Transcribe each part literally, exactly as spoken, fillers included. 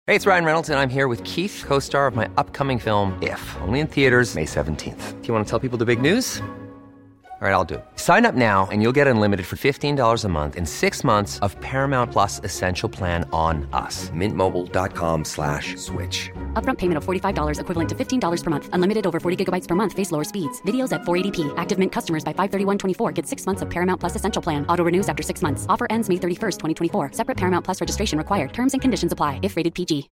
Hey, it's Ryan Reynolds, and I'm here with Keith, co-star of my upcoming film, If, only in theaters May seventeenth. Do you want to tell people the big news? All right, I'll do it. Sign up now and you'll get unlimited for fifteen dollars a month and six months of Paramount Plus Essential Plan on us. Mint Mobile dot com slash switch. Upfront payment of forty-five dollars equivalent to fifteen dollars per month. Unlimited over forty gigabytes per month. Face lower speeds. Videos at four eighty p. Active Mint customers by five thirty-one twenty-four get six months of Paramount Plus Essential Plan. Auto renews after six months. Offer ends May thirty-first, twenty twenty-four. Separate Paramount Plus registration required. Terms and conditions apply if rated P G.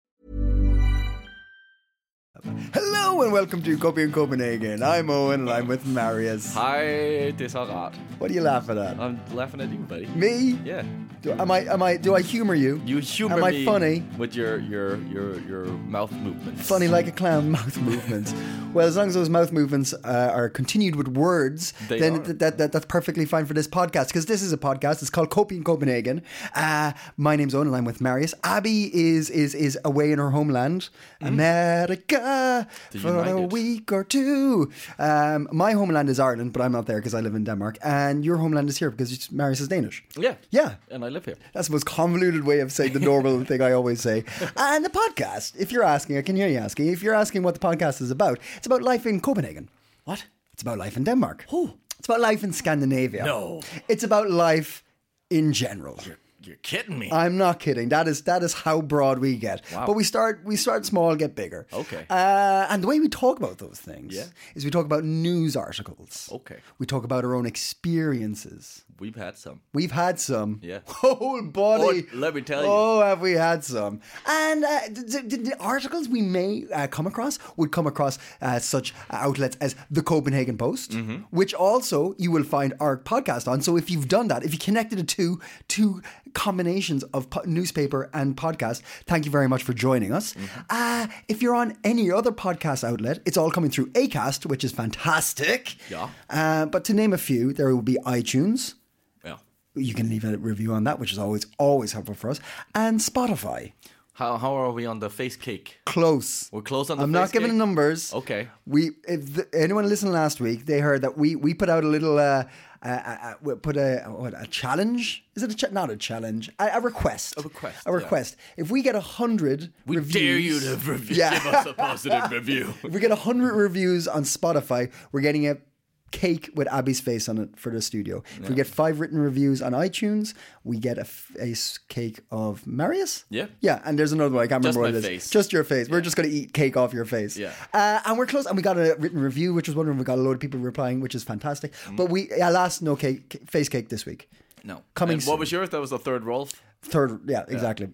Hello and welcome to Copy in Copenhagen. I'm Owen and I'm with Marius. Hi, det er så rart. What are you laughing at? I'm laughing at you, buddy. Me? Yeah. Do, am I? Am I? Do I humor you? You humor am I me funny? with your your your your mouth movements. Funny like a clown mouth movements. Well, as long as those mouth movements uh, are continued with words, They then are. th- that, that that's perfectly fine for this podcast, because this is a podcast. It's called Copy in Copenhagen. Uh, my name's Owen and I'm with Marius. Abby is is is away in her homeland, mm-hmm. America, The for a United. week or two. Um, my homeland is Ireland, but I'm not there because I live in Denmark. And your homeland is here because Marius is Danish. Yeah. Yeah. And I live here. That's the most convoluted way of saying the normal thing I always say. And the podcast, if you're asking, I can hear you asking, if you're asking what the podcast is about, it's about life in Copenhagen. What? It's about life in Denmark. Who? It's about life in Scandinavia. No. It's about life in general. You're kidding me. I'm not kidding. That is that is how broad we get. Wow. But we start we start small, get bigger. Okay. Uh, and the way we talk about those things Yeah. is we talk about news articles. Okay. We talk about our own experiences. We've had some. We've had some. Yeah. Oh, buddy. Oh, let me tell you. Oh, have we had some. And uh, the, the, the articles we may uh, come across would come across uh, such outlets as the Copenhagen Post, Mm-hmm. which also you will find our podcast on. So if you've done that, if you connected it to two combinations of po- newspaper and podcast, thank you very much for joining us. Mm-hmm. Uh, if you're on any other podcast outlet, it's all coming through Acast, which is fantastic. Yeah. Uh, but to name a few, there will be iTunes. Yeah. You can leave a review on that, which is always, always helpful for us. And Spotify. How how are we on the face cake? Close. We're close on the I'm face not giving cake? numbers. Okay. We, if the, anyone listened last week, they heard that we, we put out a little, uh, uh, uh, we put a, what, a challenge? Is it a, cha- not a challenge, a, a request. A request, A request. If we get a hundred We reviews. dare you to review, Yeah. give us a positive review. If we get a hundred reviews on Spotify, we're getting a cake with Abby's face on it for the studio. If we get five written reviews on iTunes, we get a, f- a s- cake of Marius. Yeah. Yeah, and there's another one. I can't Just remember what my it is. face. Just your face. We're just going to eat cake off your face. Yeah. Uh, and we're close. And we got a written review, which was wonderful. We got a load of people replying, which is fantastic. But we, alas, no cake, face cake this week. No. Coming And soon. what was yours? That was the third Rolf? Third, yeah, exactly.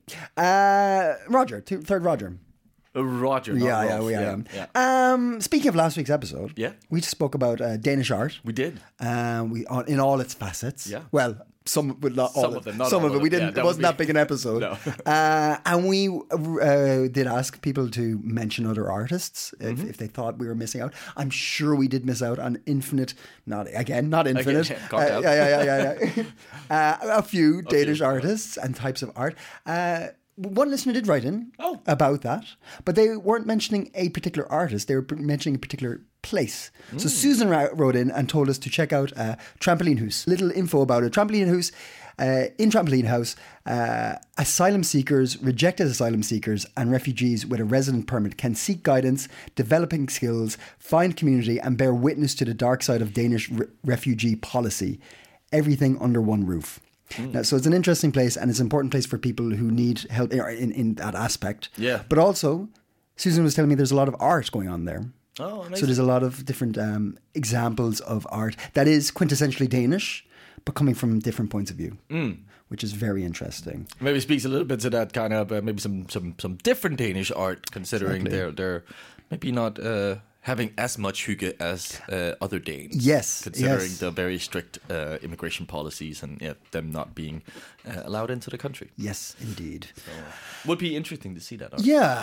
Uh, Roger, two, third Roger. Uh, Roger, not Yeah, yeah, Rolf. we yeah, am. yeah. Um, speaking of last week's episode, Yeah. we spoke about uh, Danish art. We did. Um, we on, in all its facets. Yeah. Well, some, but not all. Some of them, not some all of it. of We them. didn't. Yeah, that it would wasn't be- that big an episode. No. uh, and we uh, did ask people to mention other artists if, Mm-hmm. if they thought we were missing out. I'm sure we did miss out on infinite. Not again. Not infinite. Again, calm Uh, down. yeah, yeah, yeah, yeah. yeah. uh, a few Danish few. artists and types of art. Uh, one listener did write in Oh. about that, but they weren't mentioning a particular artist. They were p- mentioning a particular place. So Susan ra- wrote in and told us to check out uh, Trampoline House. Little info about it. Trampoline House. Uh, in Trampoline House, uh, asylum seekers, rejected asylum seekers, and refugees with a resident permit can seek guidance, developing skills, find community, and bear witness to the dark side of Danish re- refugee policy. Everything under one roof. Now, so it's an interesting place, and it's an important place for people who need help in, in that aspect. Yeah. But also, Susan was telling me there's a lot of art going on there. Oh, amazing. So there's a lot of different um, examples of art that is quintessentially Danish, but coming from different points of view, mm. which is very interesting. Maybe speaks a little bit to that kind of uh, maybe some some some different Danish art, considering Exactly. they're they're maybe not uh, having as much hygge as uh, other Danes. Yes, considering yes. the very strict uh, immigration policies and yeah, them not being uh, allowed into the country. Yes, indeed. Would be interesting to see that art. Yeah.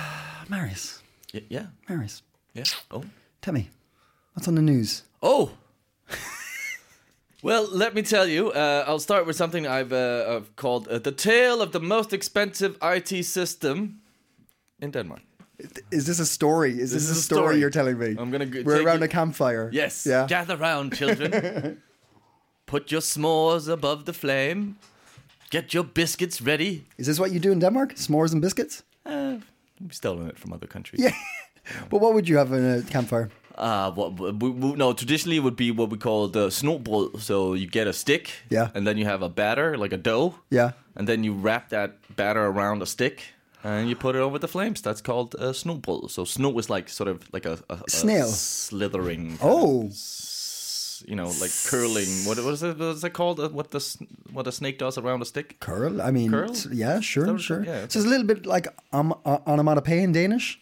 Marius. Yeah, yeah, Marius, yeah. Oh, tell me, what's on the news? oh. Well, let me tell you. Uh, I'll start with something I've, uh, I've called uh, the tale of the most expensive I T system in Denmark. Is this a story? Is this, is a a story, story. you're telling me? I'm gonna g- We're take around you- a campfire. Yes. Yeah. Gather round, children. Put your s'mores above the flame. Get your biscuits ready. Is this what you do in Denmark? S'mores and biscuits? Uh, we've stolen it from other countries. Yeah. But what would you have in a campfire? Uh, what, we, we, no, traditionally it would be what we call the snobrød. So you get a stick, Yeah. and then you have a batter, like a dough, Yeah. and then you wrap that batter around a stick, and you put it over the flames. That's called uh, snobrød. So snow is like sort of like a, a, a Snail. slithering. Oh. s- You know, like curling. What what is it? What is it called? Uh, What the s- what a snake does around a stick? Curl? I mean, Curl? s- yeah, sure, That was- sure. yeah, okay. So it's a little bit like um, uh, onomatopoeia in Danish.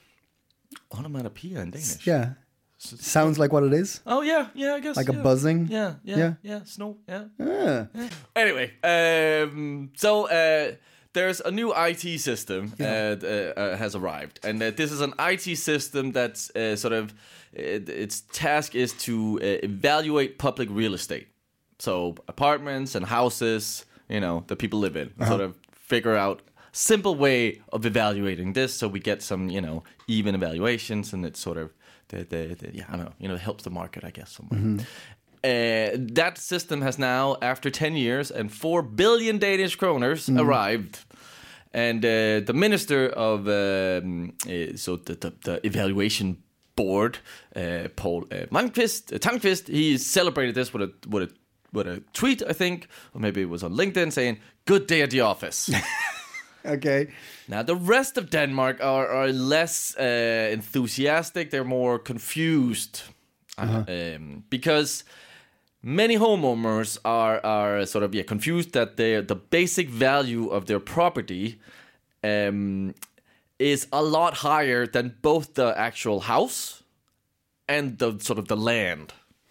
Onomatopoeia in Danish. Yeah. Sounds like what it is. Oh yeah, yeah. I guess Like a yeah. buzzing? Yeah, yeah, Yeah. yeah. Snow. Yeah. Ah. Anyway, um, so uh, there's a new I T system uh, uh, uh, has arrived, and uh, this is an I T system that's uh, sort of uh, its task is to uh, evaluate public real estate, so apartments and houses, you know, that people live in. Uh-huh. Sort of figure out simple way of evaluating this, so we get some, you know, even evaluations, and it's sort of the, the, the yeah, I don't know, you know, it helps the market, I guess, somewhere. Mm-hmm. Uh, that system has now, after ten years and four billion Danish kroners, Mm. arrived. And uh, the minister of, um, uh, so the, the, the evaluation board, uh, Paul uh, Malmqvist, uh, Tangqvist, he celebrated this with a, with, a, with a tweet, I think, or maybe it was on LinkedIn, saying, "Good day at the office." Okay. Now, the rest of Denmark are, are less uh, enthusiastic. They're more confused. Uh-huh. Um, because many homeowners are, are sort of yeah, confused that their the basic value of their property um, is a lot higher than both the actual house and the sort of the land.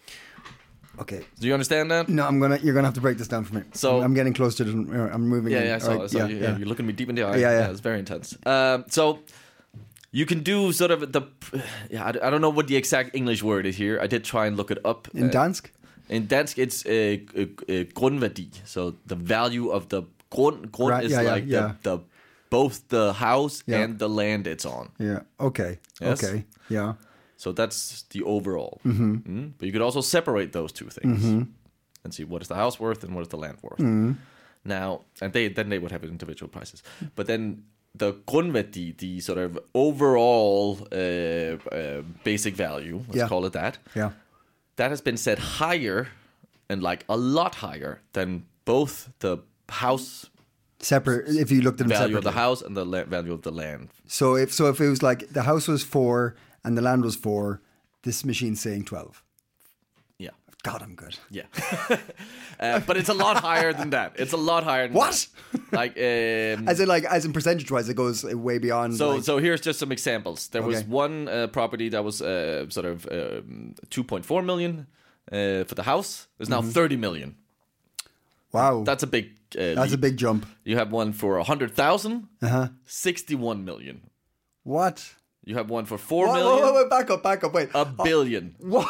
Okay. Do you understand that? No, I'm gonna. You're gonna have to break this down for me. So- I'm getting close to it. and, uh, I'm moving. Yeah, in. yeah, I saw, All right, I saw yeah, you, yeah. yeah, you're looking me deep in the eye. Yeah, yeah. It's very intense. Um, so you can do sort of the, yeah, I, I don't know what the exact English word is here. I did try and look it up. In Uh, Dansk. in Dansk, it's uh, uh, uh, grundværdi. So the value of the grund, grund Right, is yeah, yeah, like yeah. The, the both the house Yeah. and the land it's on. Yeah. Okay. Yes. Okay. Yeah. So that's the overall. Mm-hmm. Mm? But you could also separate those two things Mm-hmm. and see what is the house worth and what is the land worth. Mm-hmm. Now, and they then they would have individual prices. But then the grundværdi, the sort of overall uh, uh, basic value, let's Yeah. call it that, Yeah. that has been set higher and like a lot higher than both the house Separate. If you looked at them value separately. of the house and the la- value of the land. So if so, if it was like the house was four and the land was four, this machine's saying twelve. Yeah. God, I'm good. Yeah. uh, but it's a lot higher than that. It's a lot higher than What? that. Like, um, As in, like, as in percentage wise, it goes way beyond. so like, so here's just some examples. There was Okay. one uh, property that was uh, sort of um, two point four million uh, for the house. There's now thirty million. wow, That's a big uh, Mm-hmm. that's a leap. big jump. You have one for one hundred thousand, Uh huh. sixty-one million. What? You have one for four Whoa, million, whoa, whoa, wait, back up, back up, wait. a billion. What?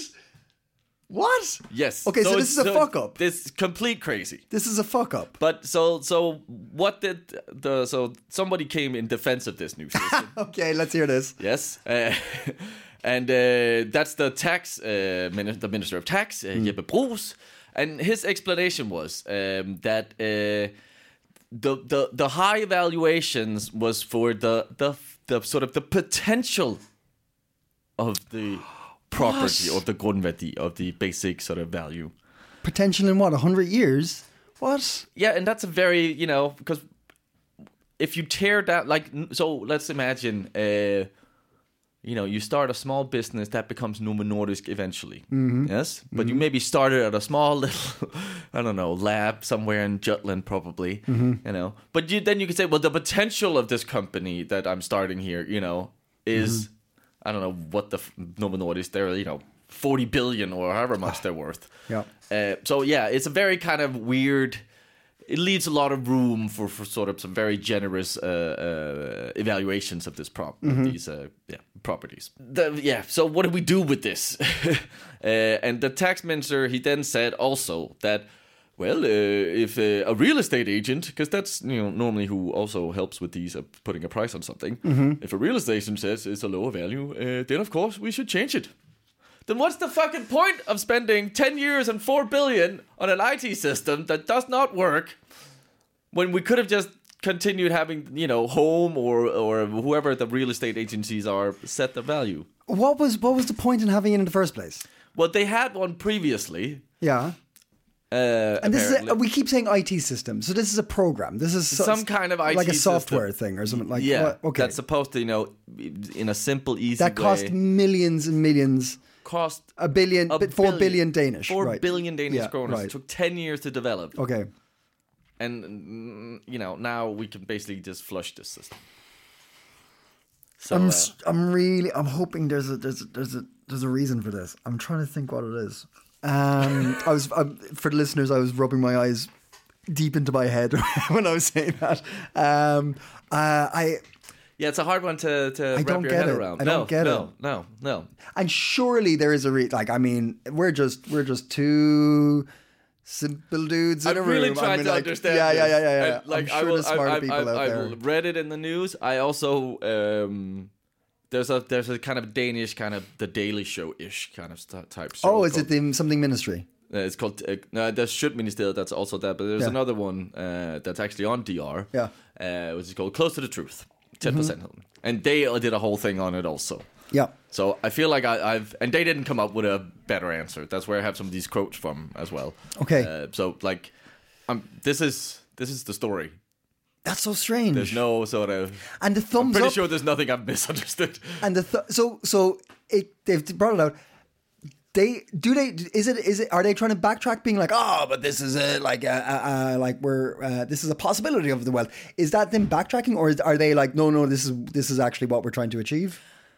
What? Yes. Okay, so this it's- is a fuck up. This is complete crazy. This is a fuck up. But so so what did the so somebody came in defense of this new system? Okay, let's hear this. Yes, uh, and uh, that's the tax uh, min- the minister of tax, uh, Jeppe Bruus, and his explanation was um, that uh, the the the high valuations was for the the the sort of the potential of the property What? of the grundværdi of the basic sort of value. Potential in what? A hundred years? What? Yeah, and that's a very, you know, because if you tear down, like, so let's imagine, uh, you know, you start a small business that becomes Novo Nordisk eventually. Yes? But you maybe started at a small little, I don't know, lab somewhere in Jutland probably, you know. But you, then you could say, well, the potential of this company that I'm starting here, you know, is, I don't know what the f- Novo Nordisk, they're, you know, forty billion or however much they're worth. Yeah. Uh, so yeah, it's a very kind of weird. It leaves a lot of room for, for sort of some very generous uh, uh, evaluations of this prop these uh, yeah properties. The, yeah. So what do we do with this? uh, and the tax minister, he then said also that, well, uh, if uh, a real estate agent, because that's, you know, normally who also helps with these uh, putting a price on something. If a real estate agent says it's a lower value, uh, then of course we should change it. Then what's the fucking point of spending ten years and four billion on an I T system that does not work when we could have just continued having, you know, Home or or whoever the real estate agencies are set the value. What was what was the point in having it in the first place? Well, they had one previously. Yeah. Uh, and this is a, we keep saying I T system, so this is a program. This is so, some kind of I T like a software system. thing or something like. Yeah, what? Okay. That's supposed to, you know, in a simple, easy that way. cost millions and millions. Cost a billion, a four billion, billion Danish. Four right. billion Danish yeah, kroners. Right. It took ten years to develop. Okay. And you know, now we can basically just flush this system. So I'm, uh, I'm really, I'm hoping there's a, there's a, there's a, there's a reason for this. I'm trying to think what it is. Um, I was, um, for the listeners, I was rubbing my eyes deep into my head when I was saying that. Um, uh, I. Yeah, it's a hard one to, to I wrap don't your get head it. around. I no, don't get no, it. No, no, no. And surely there is a re- like. I mean, we're just we're just two simple dudes in I'm a room. really trying I mean, to like, understand. Yeah, yeah, yeah, yeah. yeah. And, like I'm sure I will, there's smarter I, I, people I, out I there. read it in the news. I also um, there's a there's a kind of Danish kind of the Daily Show ish kind of st- type show. Oh, is called, it the something ministry? Uh, it's called uh, no, there's Sjøtministeriet. That's also that, but there's Yeah. another one uh, that's actually on D R. Yeah, uh, which is called Close to the Truth. Ten percent, mm-hmm. And they did a whole thing on it also. Yeah. So I feel like I, I've and they didn't come up with a better answer. That's where I have some of these quotes from as well. Okay. Uh, so like, um, this is this is the story. That's so strange. There's no sort of. And the thumbs I'm pretty up. sure there's nothing I've misunderstood. And the th- so so it they've brought it out. They do they is it is it are they trying to backtrack, being like, oh, but this is a like a, a, a like we're uh, this is a possibility of the wealth. Is that them backtracking, or is, are they like, no, no, this is this is actually what we're trying to achieve?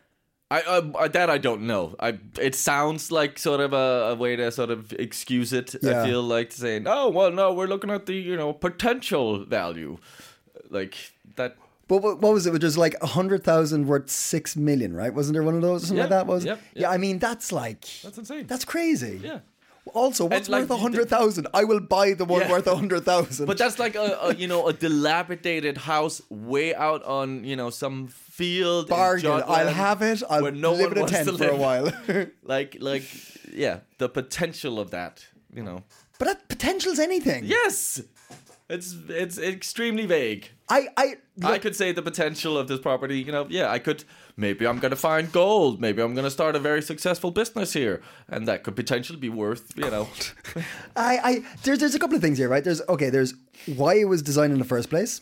I uh, that I don't know. I it sounds like sort of a, a way to sort of excuse it. Yeah. I feel like saying, oh well, no, we're looking at the you know potential value, like that. But what, what was it? It was like a hundred thousand worth six million, right? Wasn't there one of those? Something Yeah, like that was. yep, yep. Yeah, I mean that's like That's insane. That's crazy. Yeah. Also, what's And, like, worth a hundred thousand? I will buy the one Yeah. worth a hundred thousand. But that's like a, a you know a dilapidated house way out on you know some field. in bargain. I'll Jutland have it. I'll where no live one in a wants tent to for a live. while. like like yeah, the potential of that. You know. But that potential's anything. Yes. It's it's extremely vague. I I I could say the potential of this property, you know, yeah, I could, maybe I'm going to find gold. Maybe I'm going to start a very successful business here. And that could potentially be worth, you know. I, I there's there's a couple of things here, right? There's okay, there's why it was designed in the first place,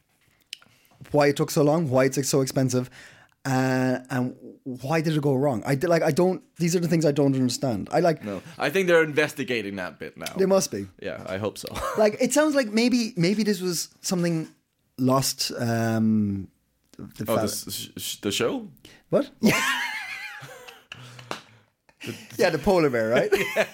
why it took so long, why it's like so expensive, uh, and why did it go wrong? I did, like I don't. These are the things I don't understand. I like. No, I think they're investigating that bit now. They must be. Yeah, I hope so. Like it sounds like maybe maybe this was something lost. Um, the Oh, fa- the, sh- sh- the show? what? Yeah. Yeah, the polar bear, right?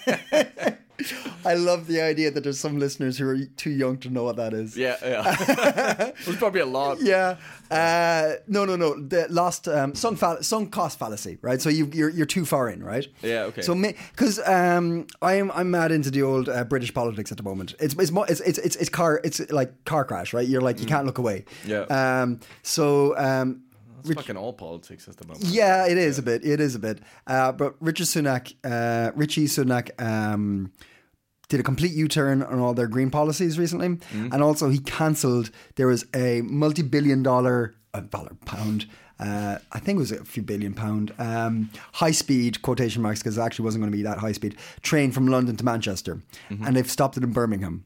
I love the idea that there's some listeners who are too young to know what that is. Yeah, yeah. There's probably a lot. Yeah. Uh, no, no, no. The lost um, sunk, fall- sunk cost fallacy, right? So you, you're you're too far in, right? Yeah, okay. So because um, I'm I'm mad into the old uh, British politics at the moment. It's it's, mo- it's it's it's it's car it's like car crash, right? You're like you can't look away. Yeah. Um. So um. It's fucking all politics at the moment. Yeah, it is a bit. It is a bit. Uh, but Richard Sunak, uh, Richie Sunak, um, did a complete U-turn on all their green policies recently, Mm-hmm. and also he cancelled. There was a multi-billion-dollar, uh, dollar pound. Uh, I think it was a few billion pound um, high-speed quotation marks because it actually wasn't going to be that high-speed train from London to Manchester, Mm-hmm. and they've stopped it in Birmingham.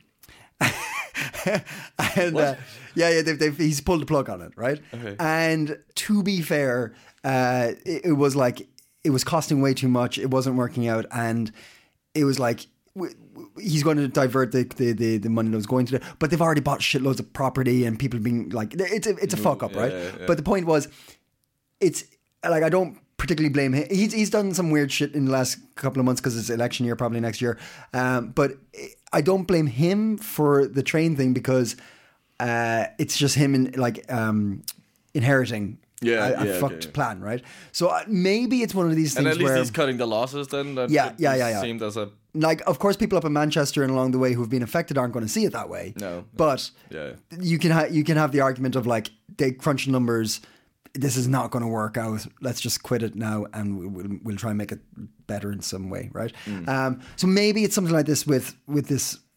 and uh, yeah, yeah, they've, they've, he's pulled the plug on it, right? Okay. And to be fair, uh, it, it was like it was costing way too much. It wasn't working out, and it was like w- w- he's going to divert the, the, the, the money that was going to. The, but they've already bought shitloads of property, and people being like, it's a, it's a fuck up, yeah, right? yeah, yeah. But the point was, it's like I don't particularly blame him. He's he's done some weird shit in the last couple of months because it's election year, probably next year. Um, but I don't blame him for the train thing because uh, it's just him in like um, inheriting Yeah, a, a yeah, fucked okay. plan, right? So uh, maybe it's one of these And things at least where he's cutting the losses then. That Yeah, it yeah, yeah, yeah. seemed as a... like, of course, people up in Manchester and along the way who've been affected aren't going to see it that way. No, no. But Yeah. you can ha- you can have the argument of like they crunch numbers. This is not going to work out. Let's just quit it now, and we'll, we'll, we'll try and make it better in some way, right? Mm. Um, so maybe it's something like this with with this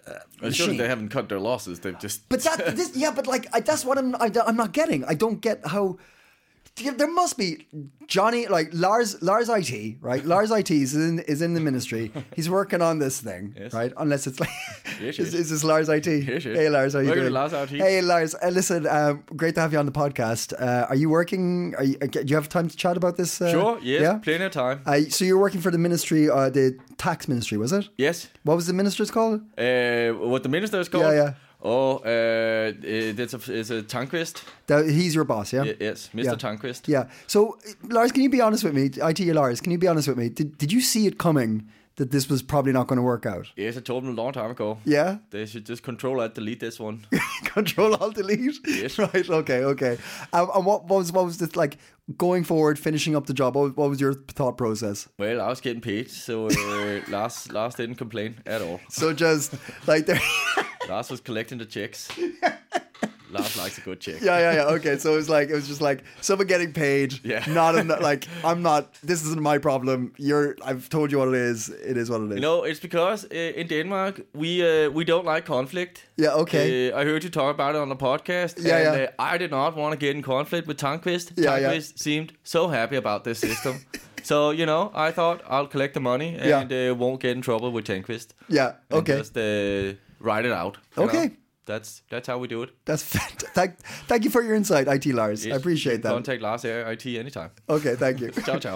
uh, I'm sure machine. they haven't cut their losses. They've just. But that, this, yeah, but like I, that's what I'm, I, I'm not getting. I don't get how. There must be Johnny, like Lars, Lars I T, right? Lars I T is in is in the ministry. He's working on this thing, Yes. right? Unless it's like, Yes, is, yes. is this Lars I T? Yes, yes. Hey Lars, how you Welcome to doing? Lars I T. Hey Lars, uh, listen, um, great to have you on the podcast. Uh, are you working? Are you, uh, do you have time to chat about this? Uh, Sure. Yes. Yeah. Plenty of time. Uh, so you're working for the ministry, uh, the tax ministry, was it? Yes. What was the minister's called? Uh, what the minister is called? Yeah, yeah. Oh, uh, it's a it's a Tankvist. That, he's your boss, yeah. Y- yes, Mister Yeah. Tankvist. Yeah. So, Lars, can you be honest with me? I T Lars, can you be honest with me? Did Did you see it coming that this was probably not going to work out? Yes, I told them a long time ago. Yeah. They should just control alt delete this one. Control Alt Delete. Yes. Right. Okay. Okay. Um, and what, what was what was this like going forward, finishing up the job? What, what was your thought process? Well, I was getting paid, so uh, Lars Lars didn't complain at all. So just like there. Lars was collecting the checks. Lars likes a good check. Yeah, yeah, yeah. Okay, so it was like it was just like someone getting paid. Yeah. Not en- like I'm not. This isn't my problem. You're. I've told you what it is. It is what it is. You know, it's because uh, in Denmark we uh, we don't like conflict. Yeah. Okay. Uh, I heard you talk about it on the podcast. Yeah, and, yeah. Uh, I did not want to get in conflict with Tankvist. Yeah, yeah. Tankvist seemed so happy about this system. So, you know, I thought I'll collect the money and Yeah. uh, won't get in trouble with Tankvist. Yeah. And Okay. just uh, write it out. you Okay. know? That's that's how we do it. That's fant- thank. Thank you for your insight, I T Lars. I Yes, appreciate you can that. Contact Lars here at I T anytime. Okay. Thank you. Ciao, ciao.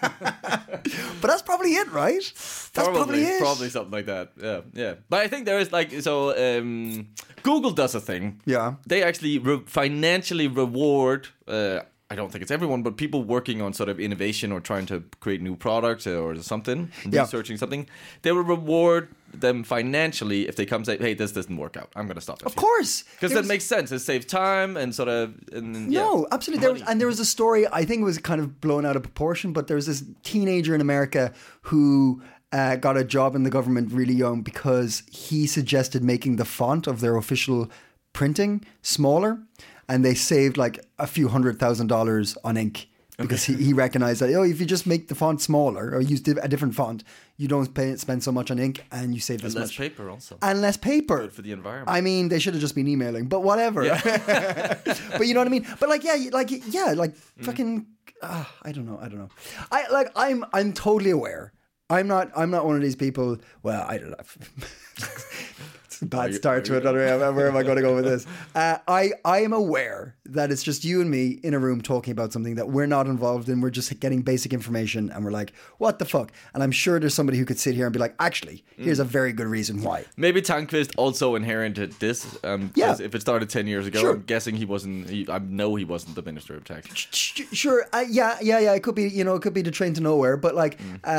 But that's probably it, right? That's probably, it. Probably something like that. Yeah, yeah. But I think there is like so. Um, Google does a thing. Yeah. They actually re- financially reward. Uh, I don't think it's everyone, but people working on sort of innovation or trying to create new products or something, Yeah. researching something. They will reward them financially if they come say, "Hey, this doesn't work out. I'm going to stop it." Of course, because There that was- makes sense. It saves time and sort of. And, yeah, No, absolutely. There was, money. and there was a story. I think it was kind of blown out of proportion, but there was this teenager in America who uh, got a job in the government really young because he suggested making the font of their official printing smaller, and they saved like a few hundred thousand dollars on ink. Because he, he recognized that, oh, if you just make the font smaller or use di- a different font, you don't pay, spend so much on ink and you save this And less much. paper also. And less paper. Good for the environment. I mean, they should have just been emailing, but whatever. But you know what I mean? But like, yeah, you- like, yeah, like fucking, uh, I don't know. I don't know. I like, I'm, I'm totally aware. I'm not, I'm not one of these people. Well, I don't know. It's a bad start to another. Where am I going to go with this? Uh, I, I am aware that it's just you and me in a room talking about something that we're not involved in. We're just getting basic information, and we're like, "What the fuck?" And I'm sure there's somebody who could sit here and be like, "Actually, here's a very good reason why." Maybe Tankvist also inherited this. Um, Yeah. 'cause if it started ten years ago, Sure. I'm guessing he wasn't. He, I know he wasn't the Minister of Tax. Sh- Sure, uh, yeah, yeah, yeah. It could be, you know, it could be the train to nowhere, but like, uh,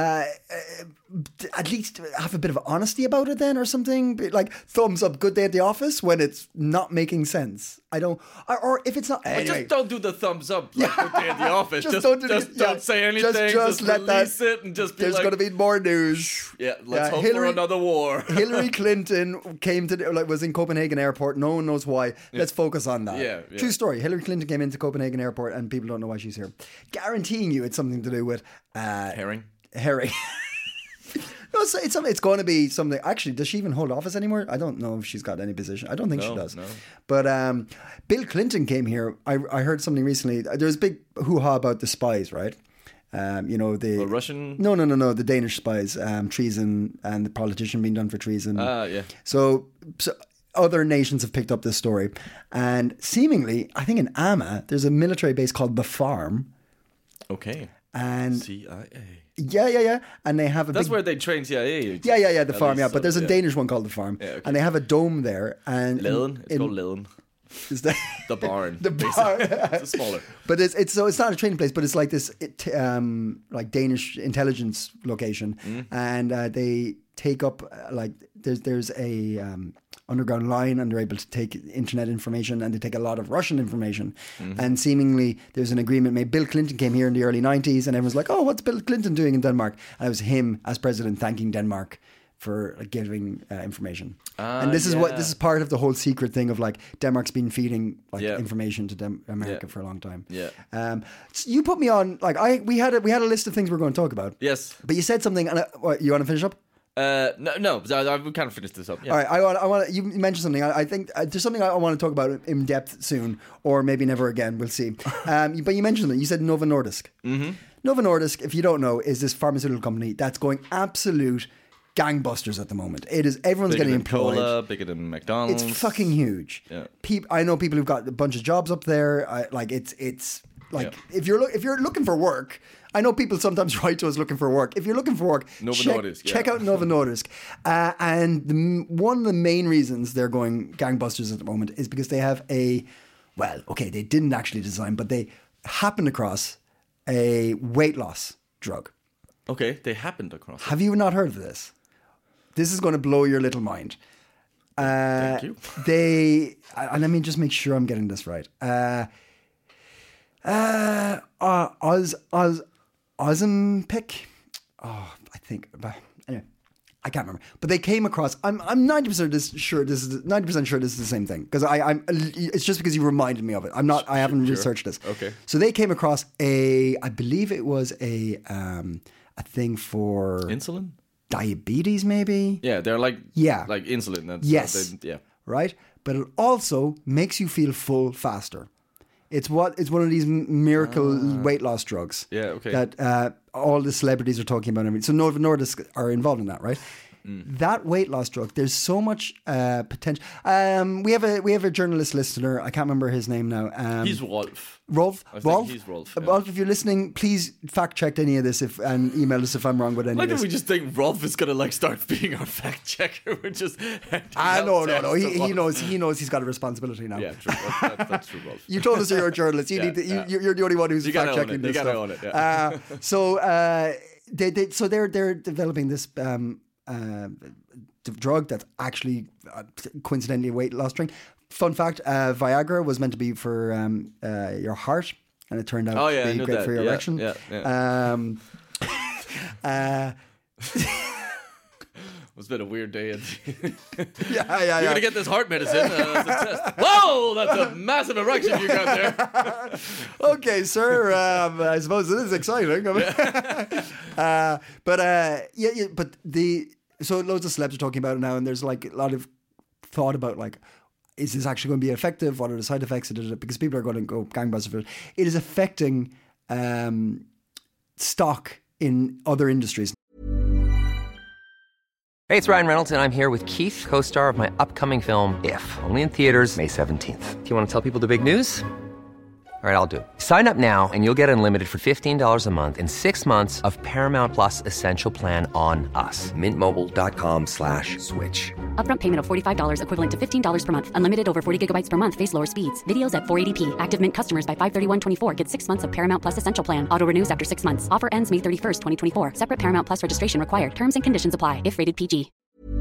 uh, at least have a bit of honesty about it, then, or something. Be- Like, thumbs up, good day at the office when it's not making sense. I don't, or, or if it's not. But Anyway, just don't do the thumbs up like good day at the office. Just just don't don't, do just the- yeah. don't say anything. Just- Just, just let release that- it and just be there's like, going to be more news. yeah, let's Yeah, hope Hillary- for another war. Hillary Clinton came to like was in Copenhagen airport. No one knows why. Let's focus on that. Yeah, yeah. True story. Hillary Clinton came into Copenhagen airport, and people don't know why she's here. Guaranteeing you, it's something to do with uh, Herring. Harry. No, it's it's, some- it's going to be something. Actually, does she even hold office anymore? I don't know if she's got any position. I don't think she No, does. no. But um, Bill Clinton came here. I I heard something recently. There was a big hoo-ha about the spies, right? Um, you know the The Russian. No, no, no, no. The Danish spies, um, treason, and the politician being done for treason. Ah, yeah. So, so other nations have picked up this story, and seemingly, I think in Amma, there's a military base called the Farm, Okay. and C I A. yeah, yeah, yeah, and they have a That's big. where they train C I A. agents, Yeah, yeah, yeah, the at farm, least, yeah. But so, there's a yeah. Danish one called the Farm, Yeah, okay. and they have a dome there. And Laden. It's in- called Laden. is that The barn. The basically. barn. It's smaller. But it's it's so it's not a training place, but it's like this it, um like Danish intelligence location, Mm. and uh, they take up uh, like there's there's a um, underground line, and they're able to take internet information, and they take a lot of Russian information, Mm-hmm. and seemingly there's an agreement made. Bill Clinton came here in the early nineties, and everyone's like, "Oh, what's Bill Clinton doing in Denmark?" And it was him as president thanking Denmark for like, giving uh, information. Ah, and this is what yeah. this is part of the whole secret thing of like Denmark's been feeding like Yeah. information to Dem- America Yeah. for a long time. Yeah. Um, so you put me on like I we had a, we had a list of things we were going to talk about. Yes. But you said something, and I, what, you want to finish up? Uh, no, no. I, I we kind of finished this up. Yeah. All right, I want. I want. You mentioned something. I, I think uh, there's something I want to talk about in depth soon, or maybe never again. We'll see. Um, but you mentioned it. You said Novo Nordisk. Mm-hmm. Novo Nordisk, if you don't know, is this pharmaceutical company that's going absolute gangbusters at the moment. It is everyone's Bigger getting than employed. Cola, bigger than McDonald's. It's fucking huge. Yeah. Peop- I know people who've got a bunch of jobs up there. I, like it's it's like Yeah. if you're lo- if you're looking for work. I know people sometimes write to us looking for work. If you're looking for work, Novo check, Nordisk, yeah. check out Novo Nordisk. Uh, and the, one of the main reasons they're going gangbusters at the moment is because they have a, well, okay, they didn't actually design, but they happened across a weight loss drug. Okay, they happened across. Have you not heard of this? This is going to blow your little mind. Uh, Thank you. They, and let me just make sure I'm getting this right. Uh, uh, uh, Oz, Oz, Ozempic? Oh, I think. But anyway, I can't remember. But they came across. I'm I'm ninety percent sure this is ninety percent sure this is the same thing because I I'm. It's just because you reminded me of it. I'm not. I haven't Sure. researched this. Okay. So they came across a. I believe it was a um a thing for Insulin? diabetes, maybe. Yeah, they're like Yeah. like insulin. That's, Yes. they- yeah. Right? But it also makes you feel full faster. It's what it's one of these m- miracle weight loss drugs. Ah. Yeah, okay. That uh, all the celebrities are talking about. And everything. So Novo Nordisk are involved in that, right? Mm. That weight loss drug, there's so much uh, potential. Um, we have a we have a journalist listener. I can't remember his name now. Um, He's Rolf. Rolf. I think Rolf. he's Rolf, Uh, yeah. Rolf, if you're listening, please fact check any of this if and email us if I'm wrong with any Like of if this. we just think Rolf is gonna like start being our fact checker. We're just Ah, no, no, no. He, he knows. He knows he's got a responsibility now. Yeah, true. That's, that's, that's true, Rolf. You told us you're a journalist. You Yeah, need to, you, yeah. you're the only one who's You gotta fact own checking it. You this gotta stuff. own it, yeah. Uh, so uh, they, they so they're they're developing this um, uh, d- drug that's actually uh, coincidentally a weight loss drink. Fun fact: uh, Viagra was meant to be for um, uh, your heart, and it turned out Oh, yeah, to I be knew great that. for your Yeah, erection. yeah, yeah. Um, uh, It's been a weird day. And yeah, yeah, You're yeah. gonna get this heart medicine uh, as a test. Whoa, that's a massive erection you got there. Okay, sir. Um, I suppose it is exciting. I mean, uh, but uh, yeah, yeah, but the so loads of celebs are talking about it now, and there's like a lot of thought about like, is this actually going to be effective? What are the side effects? Because people are going to go gangbusters for it. It is affecting um, stock in other industries. Hey, it's Ryan Reynolds, and I'm here with Keith, co-star of my upcoming film, If, only in theaters May seventeenth. Do you want to tell people the big news? All right, I'll do it. Sign up now and you'll get unlimited for fifteen dollars a month and six months of Paramount Plus Essential Plan on us. Mint Mobile dot com slash switch. Upfront payment of forty-five dollars equivalent to fifteen dollars per month. Unlimited over forty gigabytes per month. Face lower speeds. Videos at four eighty p. Active Mint customers by five thirty-one twenty-four get six months of Paramount Plus Essential Plan. Auto renews after six months. Offer ends May thirty-first, twenty twenty-four. Separate Paramount Plus registration required. Terms and conditions apply if rated P G.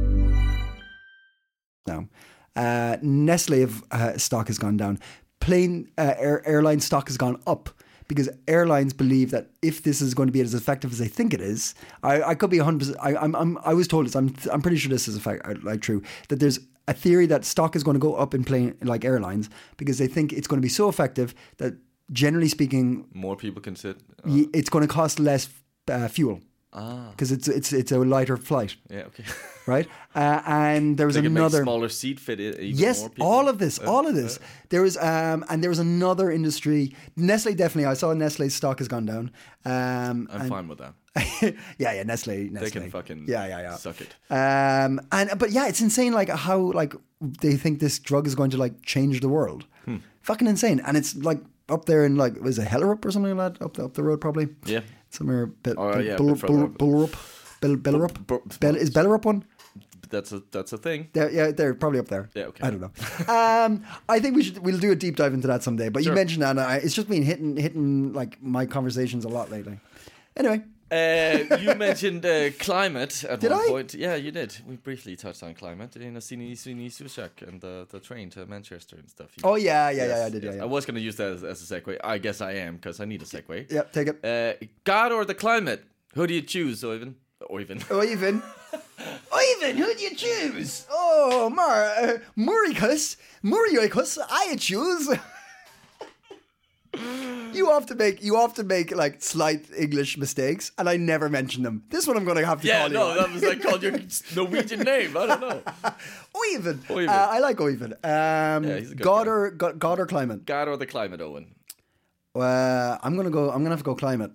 Now, uh, Nestle have, uh, stock has gone down. Plane uh, air, airline stock has gone up because airlines believe that if this is going to be as effective as they think it is, I, I could be one hundred percent. I, I'm, I'm, I was told this. I'm, I'm pretty sure this is a fact, like true. That there's a theory that stock is going to go up in plane like airlines because they think it's going to be so effective that generally speaking, More people can sit. Uh, y it's going to cost less uh, fuel. Because it's it's it's a lighter flight, yeah, okay. right? Uh, and there was They can make another smaller seat fit. i- Even yes, more people. all of this, all of this. There was, um, and there was another industry. Nestle definitely. I saw Nestle's stock has gone down. Um, I'm and- fine with that. yeah, yeah, Nestle, Nestle. They can fucking yeah, yeah, yeah. suck it. Um, and but yeah, it's insane. Like how like they think this drug is going to like change the world. Hmm. Fucking insane. And it's like up there in like was it Hellerup or something like that up the, up the road probably. Yeah. Somewhere. Be- Oh, Be- yeah, a Bull- bit further Bull- up. Bullerup. Bel- Bellerup. Bu- Bel- is Bellerup one? That's a that's a thing. They're, yeah, they're probably up there. Yeah, okay. I don't know. um, I think we should we'll do a deep dive into that someday. But Sure. you mentioned that, and I, it's just been hitting hitting like my conversations a lot lately. Anyway, Uh, you mentioned uh, climate at Did one I? point. Yeah, you did. We briefly touched on climate in a Sini Sini Sushak and the, the train to Manchester and stuff. You- oh yeah, yeah, yeah, Yes, I did. yes. Yeah, I yeah. was going to use that as, as a segue. I guess I am because I need a segue. Yeah, take it. Uh, God or the climate? Who do you choose, Oivan? Oivan. Ivan. Ivan, who do you choose? Oh, Mar, uh, Muricus, Muricus, I choose. You often make you often make like slight English mistakes, and I never mention them. This one I'm going to have to Yeah, call no, you on. that was like called your Norwegian name. I don't know. Oivind. Oivind. Uh, I like Oivind. Um, Yeah, he's a good God guy. or God, God or climate? God or the climate, Owen? Uh, I'm gonna go. I'm gonna have to go climate.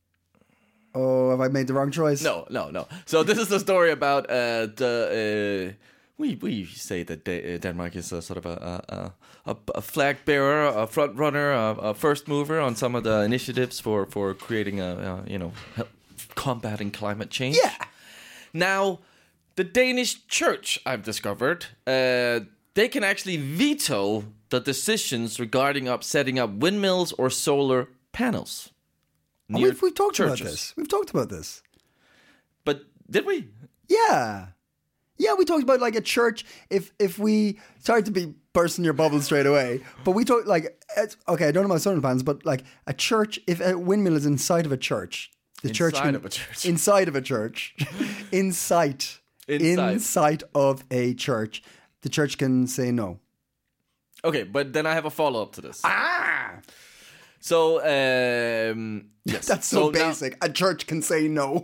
Oh, have I made the wrong choice? No, no, no. So this is the story about uh, the. Uh, we we say that Da- uh, Denmark is a sort of a a, a, a flag bearer, a front runner, a, a first mover on some of the initiatives for for creating a, a you know help combating climate change. Yeah. Now, the Danish church, I've discovered, uh, they can actually veto the decisions regarding up setting up windmills or solar panels. Oh, near we've, we've talked churches. about this. We've talked about this. But did we? Yeah. Yeah, we talked about like a church. If if we sorry to be bursting your bubble straight away, but we talked like it's, okay, I don't know about solar panels, but like a church. If a windmill is inside of a church, the church Inside can, of a church. inside of a church, inside Inside. inside of a church, the church can say no. Okay, but then I have a follow up to this. Ah, So, um, yes. that's so, now- basic. A church can say no.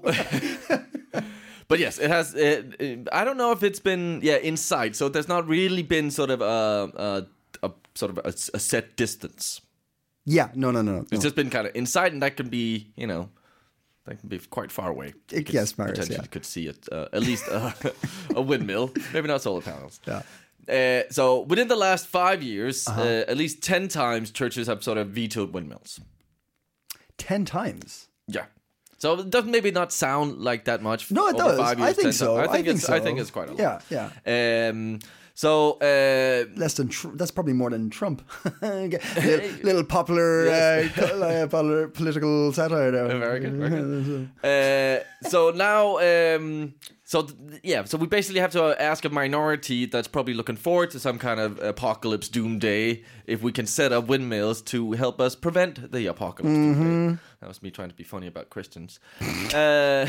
but yes, it has. It, it, I don't know if it's been yeah inside. So there's not really been sort of a, a, a sort of a, a set distance. Yeah, no, no, no, no. It's just been kind of inside, and that can be you know. That can be quite far away. You It- could yes, Marius, potentially yeah. could see it. Uh, at least a, a windmill, maybe not solar panels. Yeah. Uh, so within the last five years, uh at least ten times churches have sort of vetoed windmills. Ten times. Yeah. So it doesn't maybe not sound like that much. No, it over does. Five I years, think ten so. times. I think I think it's. so. I think it's quite a lot. Yeah, yeah. Um. So. Uh, Less than tr- that's probably more than Trump. little, little popular, Yes. uh, co- uh, popular political satire there. Very good. Very good. uh, so now, um, so th- yeah, so we basically have to ask a minority that's probably looking forward to some kind of apocalypse doomsday if we can set up windmills to help us prevent the apocalypse doomsday. That was me trying to be funny about Christians. uh,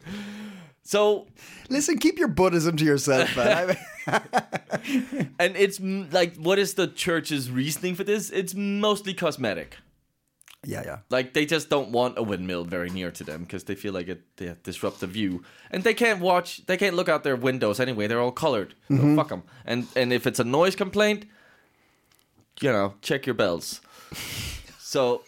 so. Listen, keep your Buddhism to yourself, man. I mean, And it's m- like, what is the church's reasoning for this? It's mostly cosmetic. yeah, yeah. Like, they just don't want a windmill very near to them because they feel like it they disrupt the view. And they can't watch, they can't look out their windows anyway. They're all colored. So fuck them. And, and if it's a noise complaint, you know, check your bells. So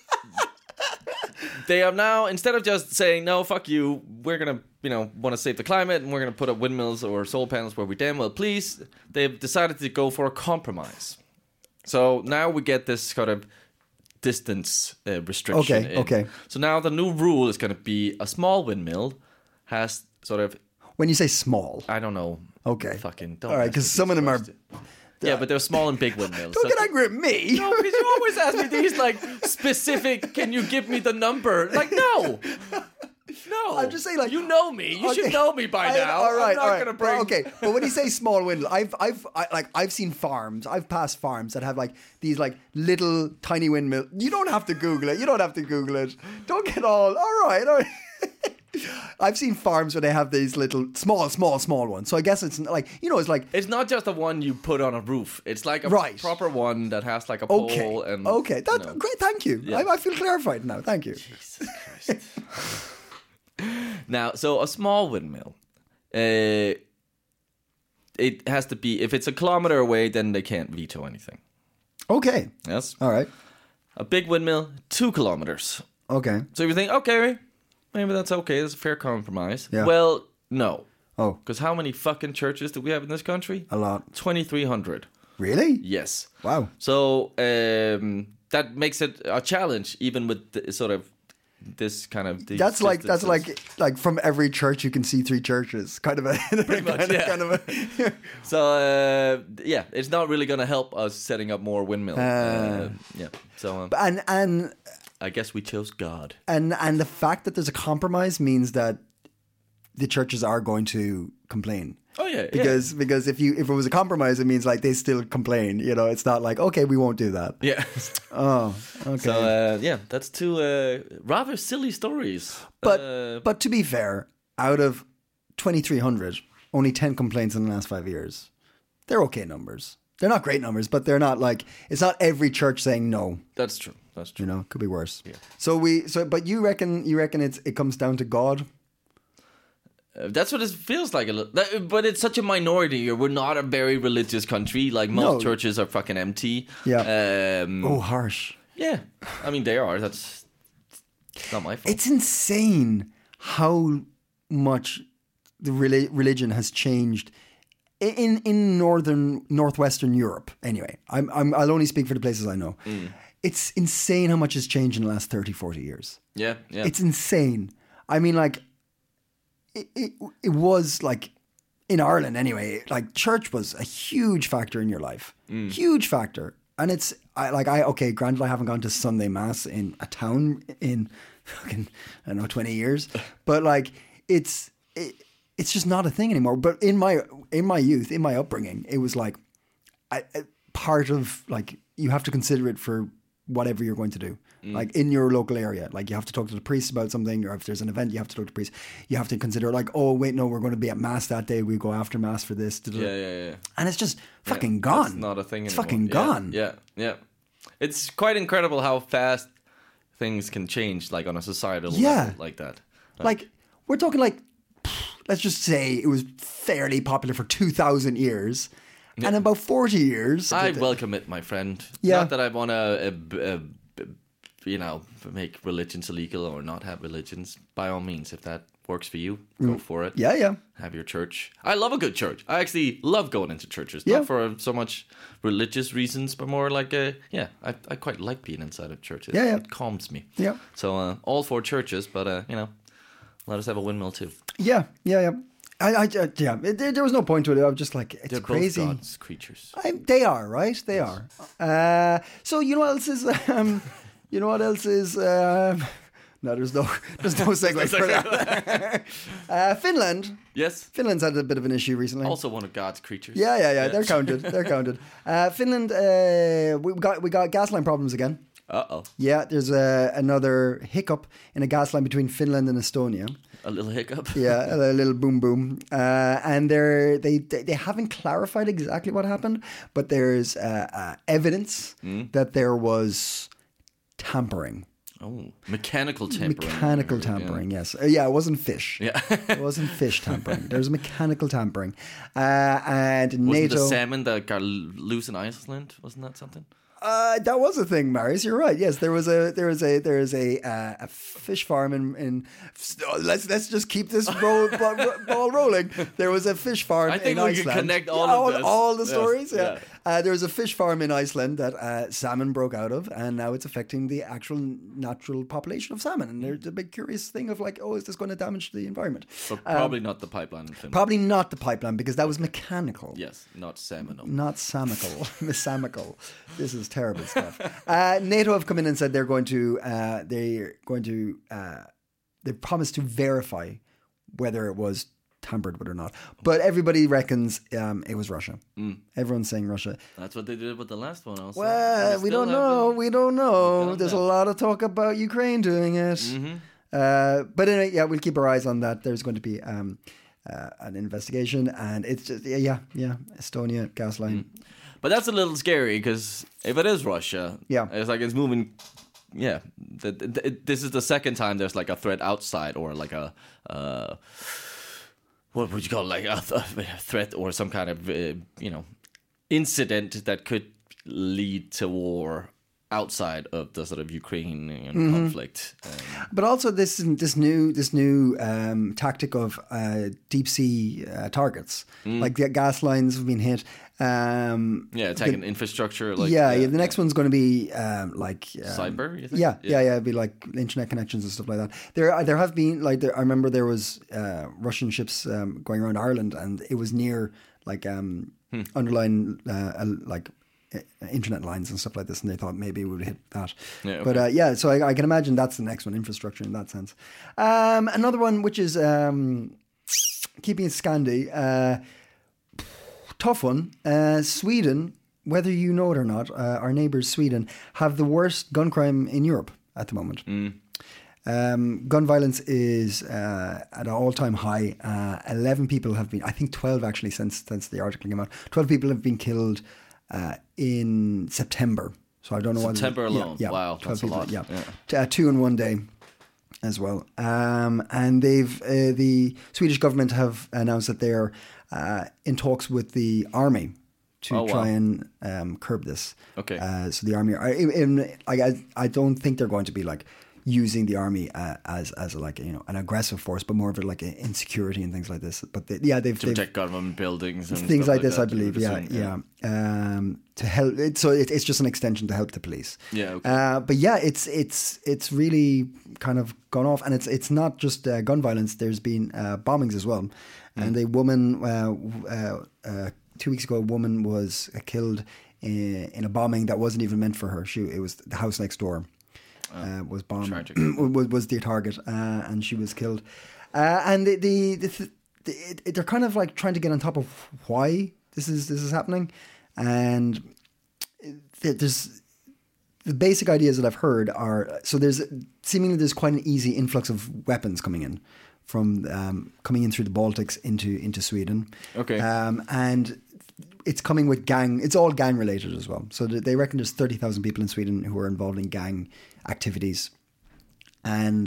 they are now, instead of just saying, no, fuck you, we're going to, you know, want to save the climate and we're going to put up windmills or solar panels where we damn well please, they've decided to go for a compromise. So now we get this kind of distance uh, restriction. Okay, in. okay. So now the new rule is going to be a small windmill has sort of, When you say small, I don't know. Okay. Fucking don't. All right, ask 'cause me some of these them are- questions. Yeah, but they're small and big windmills. don't So- get angry at me. No, because you always ask me these like specific. Can you give me the number? Like no, no. I'm just saying, like you know me. You should Okay. know me by I- now. All right, I'm not all right. gonna bring. Well, okay, but when you say small windmill, I've, I've, I, like, I've seen farms. I've passed farms that have like these like little tiny windmill. You don't have to Google it. You don't have to Google it. Don't get all. All right, all right. I've seen farms where they have these little small, small, small ones. So I guess it's like you know, it's like It's not just the one you put on a roof. It's like a Right. proper one that has like a pole okay, and okay. That's you know. great. Thank you. Yeah. I, I feel clarified now. Thank you. Jesus Christ. Now, so a small windmill, uh, it has to be if it's a kilometer away, then they can't veto anything. Okay. Yes. All right. A big windmill, two kilometers. Okay. So you think, okay, maybe that's okay. That's a fair compromise. Yeah. Well, no. Oh, Because how many fucking churches do we have in this country? a lot. twenty-three hundred. Really? Yes. Wow. So um, that makes it a challenge, even with the, sort of this kind of. these That's like that's distances. like like from every church you can see three churches. Kind of a Pretty much, kind of, yeah. kind of a, So uh, yeah, it's not really going to help us setting up more windmills. Uh. uh, yeah. So um, and and I guess we chose God. and and the fact that there's a compromise means that the churches are going to complain. Oh yeah, yeah. Because because if you if it was a compromise, it means like they still complain. You know, it's not like okay, we won't do that. Yeah. Oh, okay. So uh, yeah, that's two uh, rather silly stories. but uh, but to be fair, out of twenty-three hundred, only ten complaints in the last five years. They're okay numbers. They're not great numbers, but they're not like, it's not every church saying no. That's true. That's true. You know, could be worse. Yeah. So we, so, but you reckon, you reckon it's, it comes down to God? Uh, that's what it feels like a little. That, but it's such a minority. We're not a very religious country. Like most No. churches are fucking empty. Yeah. Um, Oh, harsh. Yeah. I mean, they are. That's it's not my fault. It's insane how much the reli- religion has changed in in northern northwestern Europe. Anyway, I'm, I'm I'll only speak for the places I know. Mm. It's insane how much has changed in the last thirty, forty years. yeah. Yeah. It's insane. I mean, like it, it it was like in Ireland anyway. Like church was a huge factor in your life, Mm. huge factor. And it's I, like I okay, granted I haven't gone to Sunday mass in a town in fucking I don't know twenty years, but like it's it, it's just not a thing anymore. But in my in my youth, in my upbringing, it was like I, I- part of like you have to consider it for whatever you're going to do. Like in your local area, like you have to talk to the priest about something, or if there's an event, you have to talk to the priest. You have to consider like, oh wait, no, we're going to be at mass that day. We go after mass for this. yeah. Yeah. Yeah. And it's just fucking Yeah, gone. It's not a thing It's anymore. fucking Yeah, gone. Yeah, yeah. It's quite incredible how fast things can change, like on a societal Yeah. level, like that. Like we're talking like, let's just say it was fairly popular for two thousand years, and in about forty years, I welcome it, my friend. Yeah. Not that I want to, uh, uh, you know, make religions illegal or not have religions. By all means, if that works for you, go for it. yeah, yeah, Have your church. I love a good church. I actually love going into churches. Yeah. Not for so much religious reasons, but more like, a, yeah, I, I quite like being inside of churches. Yeah, yeah. It calms me. Yeah. So uh, all for churches, but, uh, you know, let us have a windmill too. yeah, yeah, yeah. I, I, I yeah. It, there, there was no point to it. I was just like, it's They're crazy. both God's creatures. I, they are, right? They are. Uh, so you know what else is? Um, you know what else is? Um, no, there's no, there's no segue for that. uh, Finland. Yes. Finland's had a bit of an issue recently. Also one of God's creatures. Yeah, yeah, yeah. They're counted. They're counted. Uh, Finland. Uh, we got we got gas line problems again. Uh-oh. Yeah, there's a, another hiccup in a gas line between Finland and Estonia. A little hiccup. Yeah, a little boom boom. Uh, and they're, they they they haven't clarified exactly what happened, but there's uh, uh, evidence Mm. that there was tampering. Oh, mechanical tampering. Mechanical tampering, yes. Uh, yeah, it wasn't fish. Yeah. It wasn't fish tampering. There was mechanical tampering. Uh, and Wasn't NATO... the salmon that got loose in Iceland? Wasn't that something? Uh, that was a thing, Marius. You're right. Yes, there was a there was a there is a uh, a fish farm in, in let's let's just keep this roll, ball, ball rolling. There was a fish farm. I think in we Iceland. can connect all Yeah, of all, this. all the Yes, stories. Yeah, yeah. Uh, there was a fish farm in Iceland that uh, salmon broke out of, and now it's affecting the actual natural population of salmon. And there's a big curious thing of like, oh, is this going to damage the environment? But probably not the pipeline in Finland. Probably not the pipeline because that was mechanical. Yes, not salmon. Not samical, misamical. This is terrible stuff. Uh, NATO have come in and said they're going to uh, they're going to uh, they promised to verify whether it was tampered with or not. But everybody reckons um, it was Russia. Mm. Everyone's saying Russia. That's what they did with the last one also. Well, And we still don't know. haven't- We don't know. don't There's know. a lot of talk about Ukraine doing it. Mm-hmm. Uh, but anyway, yeah, we'll keep our eyes on that. There's going to be um, uh, an investigation, and it's just yeah, yeah, yeah. Estonia gas line. Mm. But that's a little scary because if it is Russia, Yeah. it's like it's moving. Yeah, th- th- this is the second time there's like a threat outside or like a uh, what would you call it? Like a, th- a threat or some kind of uh, you know incident that could lead to war outside of the sort of Ukrainian Mm-hmm. conflict. Um, But also this this new this new um, tactic of uh, deep sea uh, targets, like the gas lines have been hit. Um, yeah, attacking infrastructure. Like yeah, yeah, the next one's going to be um, like um, cyber. You think? Yeah, yeah, yeah. It'd be like internet connections and stuff like that. There, there have been like there, I remember there was uh, Russian ships um, going around Ireland, and it was near like um, Hmm. underlying uh, uh, like uh, internet lines and stuff like this, and they thought maybe it would hit that. Yeah, But uh, yeah, so I, I can imagine that's the next one, infrastructure in that sense. Um, another one, which is um, keeping it Scandi, uh, tough one. Uh, Sweden, whether you know it or not, uh, our neighbours Sweden have the worst gun crime in Europe at the moment. Um, gun violence is uh, at an all-time high. Uh, Eleven people have been, I think twelve actually, since since the article came out. Twelve people have been killed uh, in September. So I don't know. September what alone. Yeah, yeah, Wow, that's a people, lot. Yeah, Yeah. Uh, two in one day as well. Um, and they've uh, the Swedish government have announced that they're uh, in talks with the army to Oh, try wow. and um, curb this. Okay. Uh, so the army, are, in, in, like, I, I don't think they're going to be like using the army uh, as as a, like you know an aggressive force, but more of a, like a insecurity and things like this. But they, yeah, they've, To they've protect government buildings and things stuff like this, that, I believe. you Yeah, would assume, yeah. Um, to help, it, so it, it's just an extension to help the police. Yeah, okay. Uh, but yeah, it's it's it's really kind of gone off, and it's it's not just uh, gun violence. There's been uh, bombings as well, and a woman uh, uh, uh, two weeks ago, a woman was uh, killed in, in a bombing that wasn't even meant for her. She it was the house next door. Uh, was bombed, tragic. was, was the target, uh, and she was killed. Uh, and the, the, the, the it, it, they're kind of like trying to get on top of why this is this is happening, and there's the basic ideas that I've heard are so there's seemingly there's quite an easy influx of weapons coming in from um, coming in through the Baltics into into Sweden. Okay, um, and it's coming with gang. It's all gang related as well. So they reckon there's thirty thousand people in Sweden who are involved in gang activities, and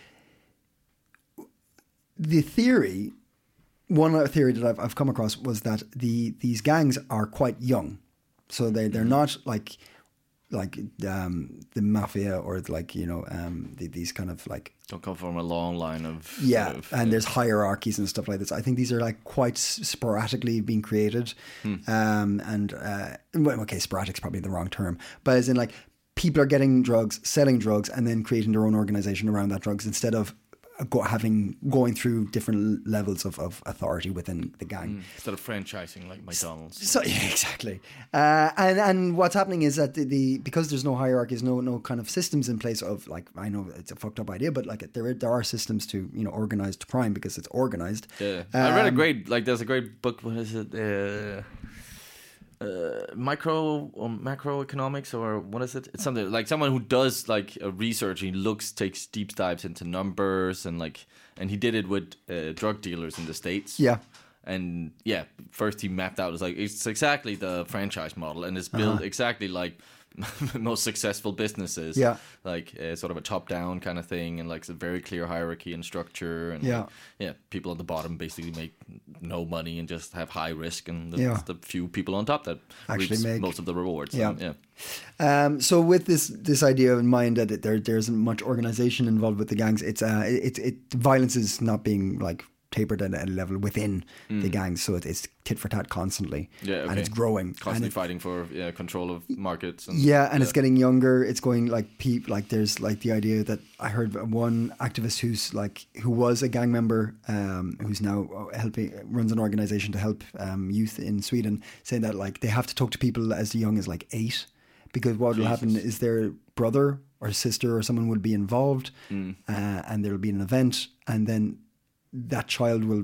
the theory, one other theory that I've, I've come across was that the these gangs are quite young, so they they're not like like um, the mafia or like you know um, the, these kind of like don't come from a long line of yeah, sort of, and yeah. there's hierarchies and stuff like this. I think these are like quite sporadically being created, hmm. um, and uh, well, okay, sporadic's probably the wrong term, but as in like people are getting drugs, selling drugs, and then creating their own organization around that drugs instead of go, having going through different levels of, of authority within the gang. Mm, instead of franchising like McDonald's. So yeah, exactly. Uh, and and what's happening is that the, the because there's no hierarchies, no no kind of systems in place of like I know it's a fucked up idea, but like there there are systems to you know organized crime because it's organized. Yeah, um, I read a great like there's a great book. What is it? Uh, Uh, micro or macroeconomics or what is it? It's something like someone who does like a research. He looks, takes deep dives into numbers and like, and he did it with uh, drug dealers in the States. Yeah, and yeah, first he mapped out it's like it's exactly the franchise model, and it's built uh-huh. exactly like most successful businesses. Yeah, like uh, sort of a top-down kind of thing, and like a very clear hierarchy and structure. And yeah, like, yeah, people on the bottom basically make no money and just have high risk, and the, yeah. the few people on top that actually make most of the rewards. Yeah, and, yeah. Um, so with this this idea in mind that there there isn't much organization involved with the gangs, it's uh it it violence is not being like tapered at a level within mm. the gangs, so it's tit for tat constantly, yeah, okay. and it's growing, constantly it, fighting for yeah, control of markets. And, yeah, and yeah. it's getting younger. It's going like peep like there's like the idea that I heard one activist who's like who was a gang member, um, who's now helping runs an organization to help um, youth in Sweden, saying that like they have to talk to people as young as like eight, because what will happen is their brother or sister or someone will be involved, mm. uh, and there will be an event, and then that child will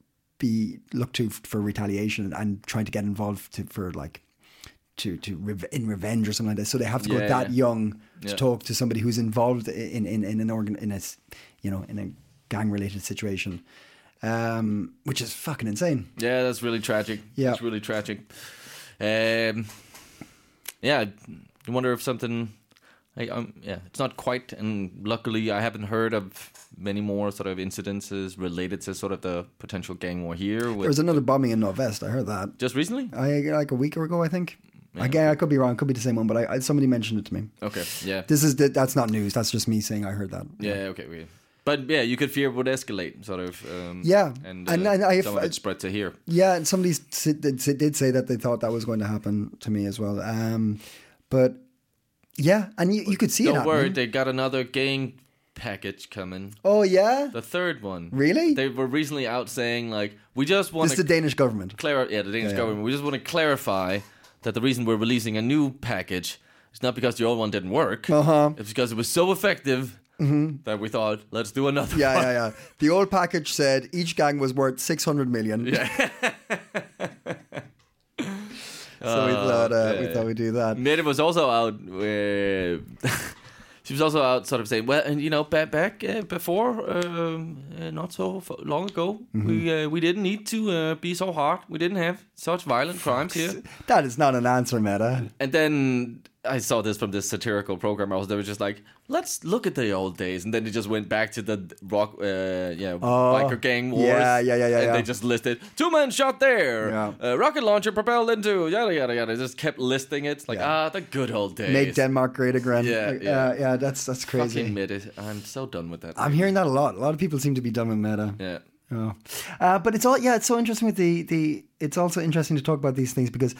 be looked to for retaliation and trying to get involved to, for like to to rev- in revenge or something like that. So they have to go yeah, that yeah. young to yeah. talk to somebody who's involved in in, in an organ in a you know in a gang related situation, um, which is fucking insane. Yeah, that's really tragic. Yeah, it's really tragic. Um, yeah, I wonder if something. I, um, yeah, it's not quite, and luckily I haven't heard of many more sort of incidences related to sort of the potential gang war here. With there was another bombing in Northwest. I heard that just recently. I like a week ago, I think. Yeah. Again, I could be wrong. It could be the same one, but I, I somebody mentioned it to me. Okay, yeah. This is the, that's not news. That's just me saying I heard that. Yeah, yeah. okay, okay. But yeah, you could fear it would escalate, sort of. Um, yeah, and, uh, and, and I, some of it spread to here. Yeah, and somebody did, did say that they thought that was going to happen to me as well. Um, but yeah, and you, you could see Don't it. Don't worry, happening. they got another gang package coming. Oh yeah, the third one. Really? They were recently out saying like, we just want. This is the Danish government. Clar- yeah, the Danish yeah, government. Yeah. We just want to clarify that the reason we're releasing a new package is not because the old one didn't work. Uh-huh. It's because it was so effective. Mm-hmm. That we thought, let's do another yeah, one. Yeah, yeah, The old package said each gang was worth six hundred million. Yeah. so uh, we thought uh, yeah, we yeah. thought we'd do that. Mette was also out. Uh, she was also out sort of saying, well, and you know, back back uh, before, um, uh, not so f- long ago, mm-hmm. we uh, we didn't need to uh, be so hard. We didn't have such violent crimes here. That is not an answer, Meta. And then I saw this from this satirical program. I was they were just like, let's look at the old days, and then they just went back to the rock, uh, yeah, oh, biker gang wars. Yeah, yeah, yeah, yeah. And yeah. they just listed two men shot there, yeah. uh, rocket launcher propelled into yada yada yada. They just kept listing it. It's like yeah. ah, the good old days. Make Denmark great again. Yeah, like, yeah, uh, yeah. That's that's crazy. Fucking Meta. I'm so done with that. I'm hearing that a lot. A lot of people seem to be done with Meta. Yeah. Oh. Uh, but it's all yeah. It's so interesting with the the. It's also interesting to talk about these things because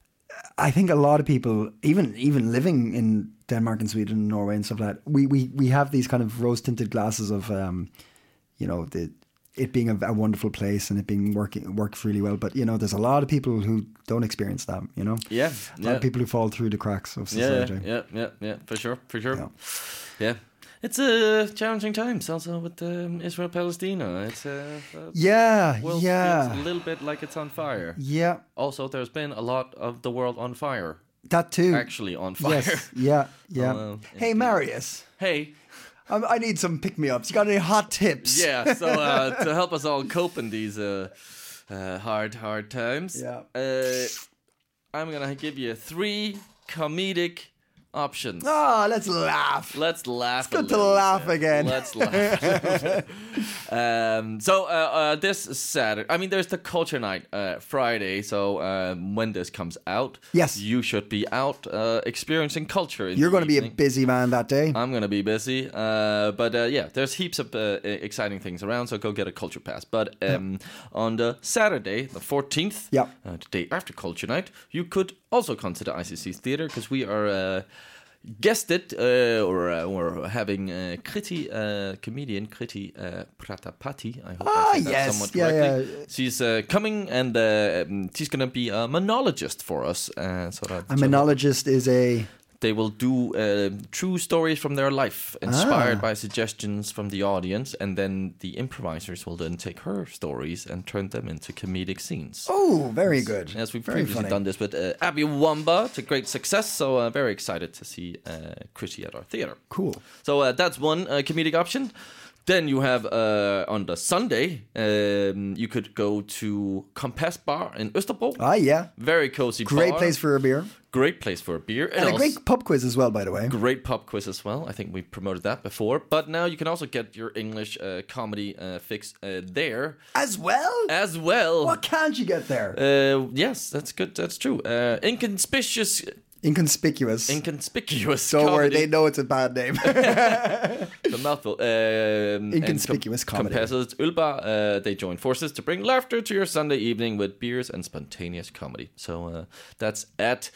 I think a lot of people, even even living in Denmark and Sweden and Norway and stuff like that, we we, we have these kind of rose tinted glasses of, um, you know, the it being a, a wonderful place and it being working works really well. But you know, there's a lot of people who don't experience that. You know, yeah, a lot yeah. of people who fall through the cracks of society. Yeah, yeah, yeah, yeah, for sure, for sure. Yeah. yeah. It's a uh, challenging times also with um, Israel-Palestina. It's uh, uh, yeah, world yeah, feels a little bit like it's on fire. Yeah. Also, there's been a lot of the world on fire. That too. Actually on fire. Yes. Yeah. Yeah. Oh, well, hey, Marius. Hey. Um, I need some pick-me-ups. You got any hot tips? Yeah. So uh, to help us all cope in these uh, uh, hard, hard times, yeah. uh, I'm gonna give you three comedic options. Oh, let's laugh. Let's laugh. It's good to laugh bit. again. Let's laugh. um, so uh, uh, this Saturday, I mean, there's the Culture Night uh, Friday. So um, when this comes out, yes, you should be out uh, experiencing culture. You're going to be a busy man that day. I'm going to be busy, uh, but uh, yeah, there's heaps of uh, exciting things around. So go get a culture pass. But um, yeah. on the Saturday, the fourteenth, yeah, uh, the day after Culture Night, you could also consider I C C's theater because we are. Uh, guested uh, or uh, or having uh, Kriti, uh, comedian Kriti uh, Pratapati. I hope ah, I said that yes. somewhat yeah, correctly. Yeah. She's uh, coming and uh, she's going to be a monologist for us. Uh, so that, a monologist so is a... They will do uh, true stories from their life, inspired ah. by suggestions from the audience, and then the improvisers will then take her stories and turn them into comedic scenes. Oh, very good. Yes, we've very previously funny. done this with uh, Abby Wamba to great success, so uh, very excited to see uh, Kriti at our theater. Cool. So uh, that's one uh, comedic option. Then you have uh, on the Sunday, um, you could go to Compass Bar in Østerbro. Ah, yeah. Very cozy Great bar. place for a beer. Great place for a beer. And, and a great pub quiz as well, by the way. Great pub quiz as well. I think we promoted that before. But now you can also get your English uh, comedy uh, fix uh, there. As well? As well. What can't you get there? Uh, yes, that's good. That's true. Uh, inconspicuous... Inconspicuous. Inconspicuous Don't comedy. worry, they know it's a bad name. The mouthful. Um, Inconspicuous com- comedy. Compasses Ølbar, uh, they join forces to bring laughter to your Sunday evening with beers and spontaneous comedy. So uh, that's at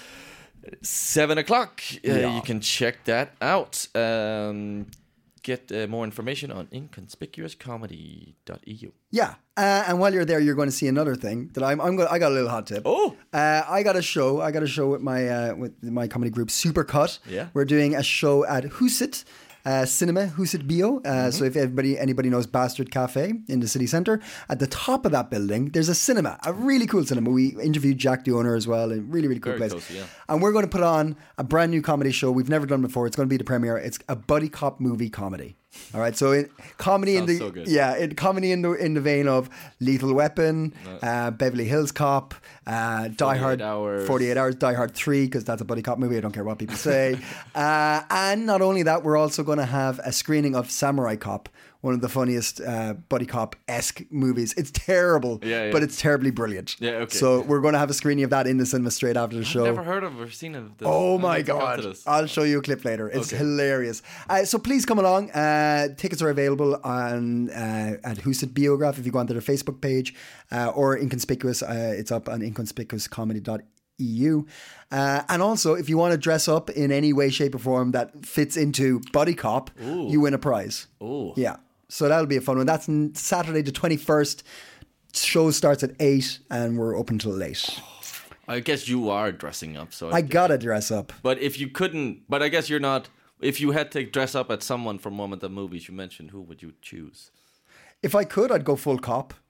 seven o'clock. Uh, yeah. You can check that out. Um, get uh, more information on inconspicuous comedy dot e u. Yeah, uh, and while you're there, you're going to see another thing that I'm. I'm going. I got a little hot tip. Oh, uh, I got a show. I got a show with my uh, with my comedy group Supercut. Yeah, we're doing a show at Huset uh, Cinema, Huset Bio. Uh, mm-hmm. So if everybody anybody knows Bastard Cafe in the city centre, at the top of that building, there's a cinema, a really cool cinema. We interviewed Jack, the owner, as well. A really really cool Very place. Close, yeah. And we're going to put on a brand new comedy show we've never done before. It's going to be the premiere. It's a buddy cop movie comedy. All right, so in, comedy Sounds in the so good. yeah, in, comedy in the in the vein of Lethal Weapon, uh, Beverly Hills Cop, uh, Die Hard, hours. forty-eight hours, Die Hard three, because that's a buddy cop movie. I don't care what people say. uh, and not only that, we're also going to have a screening of Samurai Cop, one of the funniest uh, buddy cop-esque movies. It's terrible, yeah, yeah. but it's terribly brilliant. Yeah, okay. So we're going to have a screening of that in the cinema straight after the I've show. never heard of or seen of this. Oh I my need to come to god! this. I'll show you a clip later. It's Okay. hilarious. Uh, so please come along. Uh, tickets are available on uh, at Huset Biograph if you go onto their Facebook page uh, or Inconspicuous. Uh, it's up on inconspicuous comedy dot e u. Uh, and also, if you want to dress up in any way, shape, or form that fits into buddy cop, Ooh. you win a prize. Oh, Yeah. So that'll be a fun one. That's n- Saturday the twenty-first. Show starts at eight and we're open till late. I guess you are dressing up. So I gotta dress up. But if you couldn't, but I guess you're not. If you had to dress up as someone from one of the movies you mentioned, who would you choose? If I could, I'd go full cop.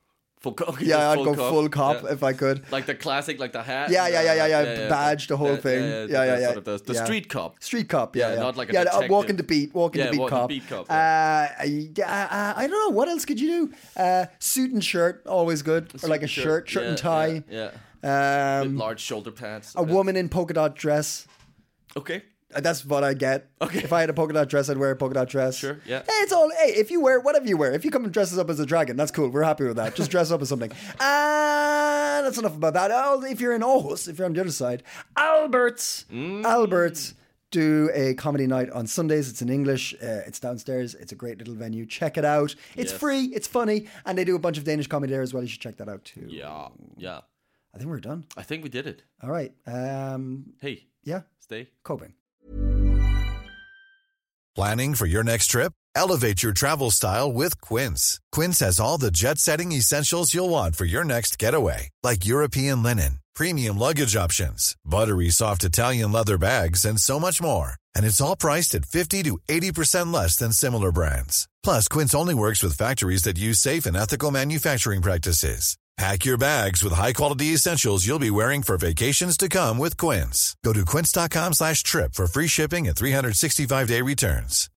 Full co- okay, Yeah, I'd full go cop. full cop Yeah. if I could. Like the classic, like the hat. Yeah, yeah, yeah, yeah, uh, yeah. Badge, the whole yeah, thing. Yeah, Yeah, yeah, the, yeah. Sort of the, the Yeah. street cop. Street cop, yeah, Yeah, yeah. not like a yeah, uh, detective. walking the beat, walking Yeah, the beat walking cop. the beat cop, Uh, yeah, uh, I don't know. What else could you do? Uh, suit and shirt, always good. Or like a Suit shirt, and shirt yeah, and tie. Yeah. yeah. Um, With large shoulder pads. a woman in polka dot dress. Okay. Uh, That's what I get. Okay. If I had a polka dot dress, I'd wear a polka dot dress. Sure, yeah. Hey, it's all. Hey, if you wear whatever you wear, if you come and dress us up as a dragon, that's cool. We're happy with that. Just dress up as something. And that's enough about that. Oh, if you're in Aarhus, if you're on the other side, Albert's, Mm. Albert's do a comedy night on Sundays. It's in English. Uh, it's downstairs. It's a great little venue. Check it out. It's Yes. free. It's funny, and they do a bunch of Danish comedy there as well. You should check that out too. Yeah. Yeah. I think we're done. I think we did it. All right. Um, Hey, yeah, stay. coping. Planning for your next trip? Elevate your travel style with Quince. Quince has all the jet-setting essentials you'll want for your next getaway, like European linen, premium luggage options, buttery soft Italian leather bags, and so much more. And it's all priced at fifty to eighty percent less than similar brands. Plus, Quince only works with factories that use safe and ethical manufacturing practices. Pack your bags with high-quality essentials you'll be wearing for vacations to come with Quince. Go to quince.com slash trip for free shipping and three sixty-five day returns.